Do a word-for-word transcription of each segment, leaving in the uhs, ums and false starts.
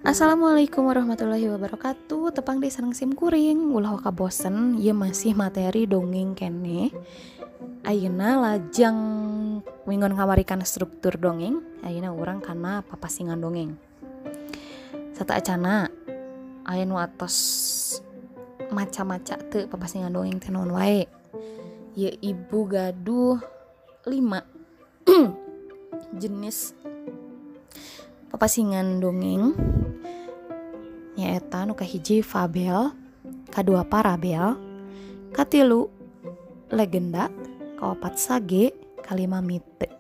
Assalamualaikum warahmatullahi wabarakatuh. Tepang deh sareng sim kuring. Ulah waka bosen, ieu masih materi dongeng kene. Ayeuna lajang minggon kamarikan struktur dongeng. Ayeuna urang kana papasingan dongeng. Sata acana aya nu atos maca-maca teu papasingan dongeng teh naon wae. Ieu ibu gaduh lima jenis papasingan dongeng. Nyaeta nu kahiji fabel, kadua parabel, katilu legenda, kaopat sage, kalima mite.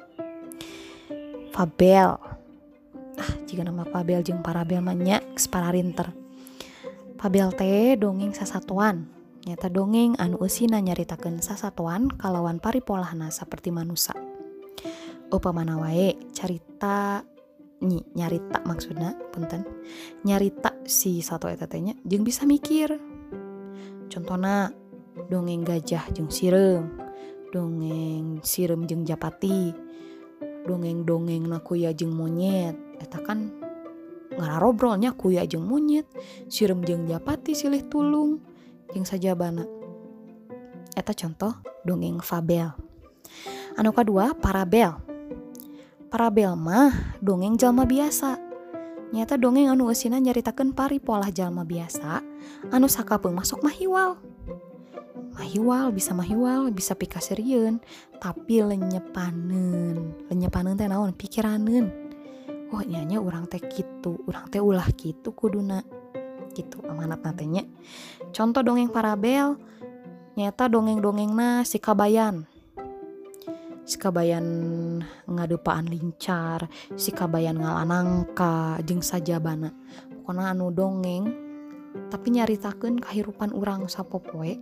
Fabel. Ah, jika nama fabel jeung parabel mah nya geus pararinter. Fabel teh dongeng sasatuan. Nyaeta dongeng anu eusina nyaritakeun sasatuan kalawan paripolahna saperti manusa. Upamana wae carita Ny, nyarita maksudna punten nyarita si satu eta teh nya jeung bisa mikir. Contona dongeng gajah jeung sireum, dongeng sireum jeung japati, dongeng-dongengna kuya jeung monyet. Eta kan ngararobrolnya kuya jeung monyet, sireum jeung japati silih tulung jeung sajabana. Eta contoh dongeng fabel. Anu kadua parabel. Parabel mah dongeng jalma biasa. Nyata dongeng anu eusina nyaritakeun paripolah jalma biasa anu sakapeung masuk mahiwal. Mahiwal bisa mahiwal bisa pikasirieun tapi lenyepaneun. Lenyepaneun teh naon? Pikiraneun. Oh nyanya urang teh kitu, urang teh ulah kitu kuduna. Kitu amanatna teh nya. Contoh dongeng parabel nyata dongeng-dongengna si Kabayan. Si Kabayan ngadupaan lincar, si Kabayan ngalanangka jeung sajabana. Pokona anu dongeng tapi nyaritakeun kahirupan urang sapopoe.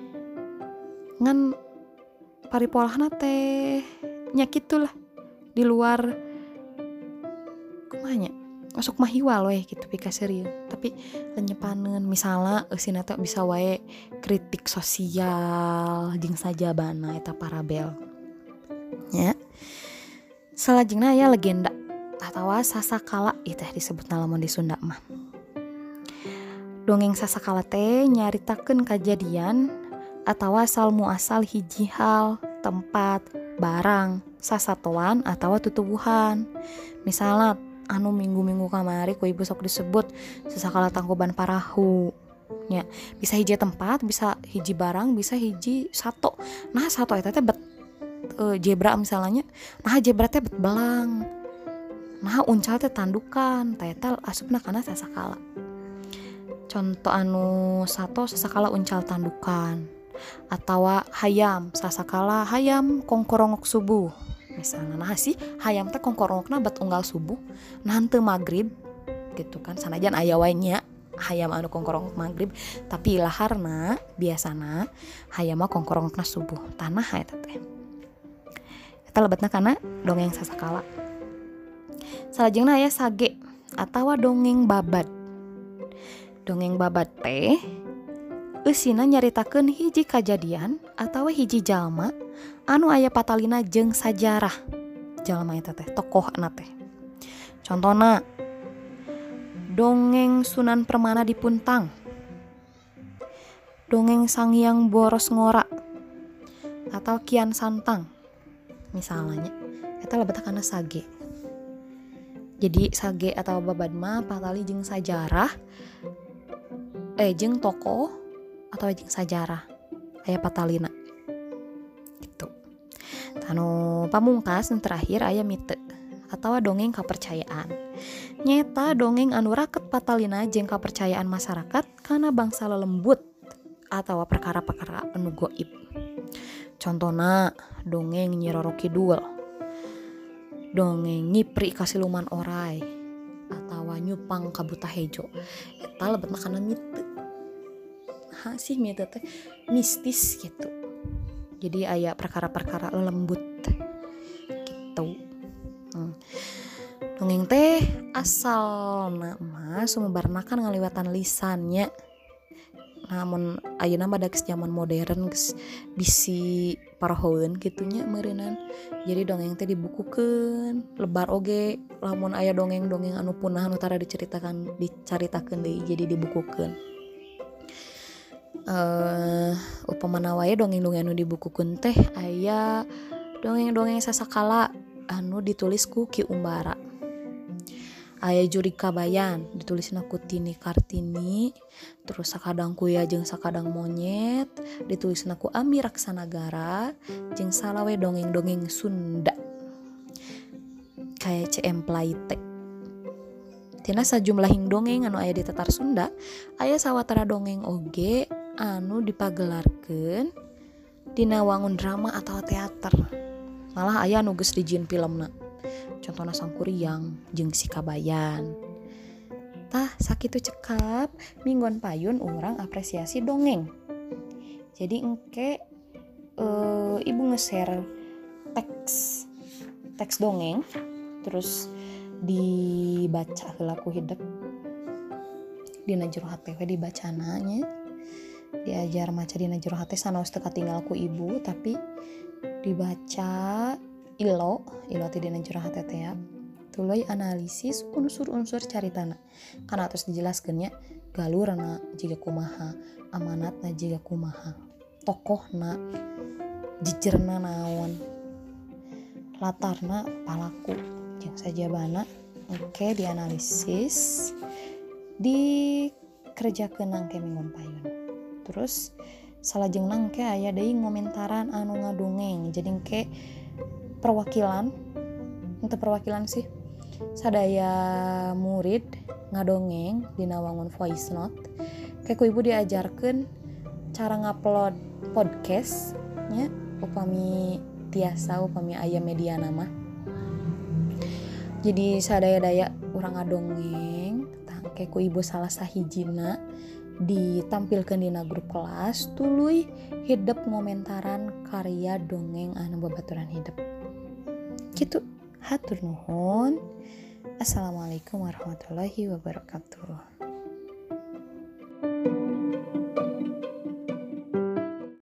Ngan paripolahna teh nya kitulah di luar kumaha nya masuk mahiwal we gitu pikasirieun. Tapi lenyepaneun misalna eusina teh bisa wae kritik sosial jeung sajabana eta parabel. Ya. Salajengna aya legenda atawa sasakala ieu teh disebutna lamun di Sunda mah. Dongeng sasakala teh nyaritakeun kajadian atawa asal muasal hiji hal, tempat, barang, sasatoan atawa tutuwuhan. Misalna anu minggu-minggu kamari ku ibu sok disebut sasakala tangkuban parahu. Ya, bisa hiji tempat, bisa hiji barang, bisa hiji sato. Nah, sato eta teh bet Uh, zebra misalnya, nah zebra teh bet belang, nah uncal teh tandukan, teh eta asupna kana sasakala. Contoh anu sato sasakala uncal tandukan, atawa hayam sasakala hayam kongkorongok subuh. Misalnya nah si hayam teh kongkorongokna bet unggal subuh, nah henteu magrib gitu kan, sanajan aya wae nya hayam anu kongkorongok magrib, tapi laharna biasana hayam mah kongkorongokna subuh. Tanah eta teh. Eta lebetna kana dongeng sasakala. Salajengna aya sage atawa dongeng babad. Dongeng babad teh eusina nyaritakeun hiji kajadian atawa hiji jalma anu aya patalina jeung sajarah jalma eta teh, tokohna teh. Contona dongeng Sunan Permana di Puntang, dongeng Sang Hyang Boros Ngora atau Kian Santang. Misalnya eta lebetna kana sage. Jadi sage atau babad mah patali jeung sajarah eh jeung tokoh atau jeung sajarah aya patalina gitu. Anu pamungkas nu terakhir aya mite atawa dongeng kapercayaan. Nyata dongeng anu raket patalina jeung kapercayaan masyarakat kana bangsa lelembut atawa perkara-perkara anu goib. Contona dongeng Nyi Roro Kidul, dongeng Nyipri Kasiluman Oray, atawa Nyupang ka Buta Hejo. Eta lebetna kana mite. Ha sih mite teh mistis gitu. Jadi aya perkara-perkara lembut gitu. Hmm. Dongeng teh asalna mah sumebarna kan ngaliwatan lisannya. namun ayeuna mah da geus zaman modern geus bisi parahoeun kitunya meureunnan. Jadi dongeng teh dibukukeun, lebar oge lamun aya dongeng-dongeng anu punah anu tara diceritakan dicaritakeun deui jadi dibukukeun. Uh, upamana wae dongeng-dongeng anu dibukukeun teh aya dongeng-dongeng sasakala anu ditulis ku Ki Umbara. Aya Jurika Bayan ditulisna ku Tini Kartini, terus Sakadang Kuya jeung Sakadang Monyet ditulisna ku Ami Raksanagara, jeung salawe dongeng-dongeng Sunda kayak C M Plaite. Tina sajumlahing dongeng anu aya di tetar Sunda aya sawatara dongeng oge anu dipagelarkeun dina wangun drama atau teater. Malah aya anu geus dijieun filmna. Contohna Sangkuriang jeung Si Kabayan. Tah sakitu cekap minggon payun urang apresiasi dongeng. Jadi engke e, ibu nge-share teks teks dongeng terus dibaca heula ku hideuk. Dina jero hate we dibacana nya. Diajar maca dina jero hate sanaos teu katinggal ku ibu tapi dibaca ilo ilo teh dina jero hate teh ya. Tuluy analisis unsur-unsur caritana. Kana terus dijelaskeun nya galurna jiga kumaha, amanatna jiga kumaha, tokohna jijerna naon, latarna palaku jeung sajabana. Oke, dianalisis dikerjakeun nangke minggon payun. Terus salajengna engke aya deui ngomentaran anu ngadongeng. Jadi engke perwakilan untuk perwakilan sih sadaya murid ngadongeng dina wangun voice note. Kayak ku ibu diajarkeun cara ngupload podcast nya upami tiasa upami aya media nama. Jadi sadaya-daya urang ngadongeng tah kayak ku ibu salah sahijina ditampilkeun dina grup kelas tuluy hidup ngomentaran karya dongeng anu babaturan hidup. Gitu. Hatur nuhun. Assalamualaikum warahmatullahi wabarakatuh.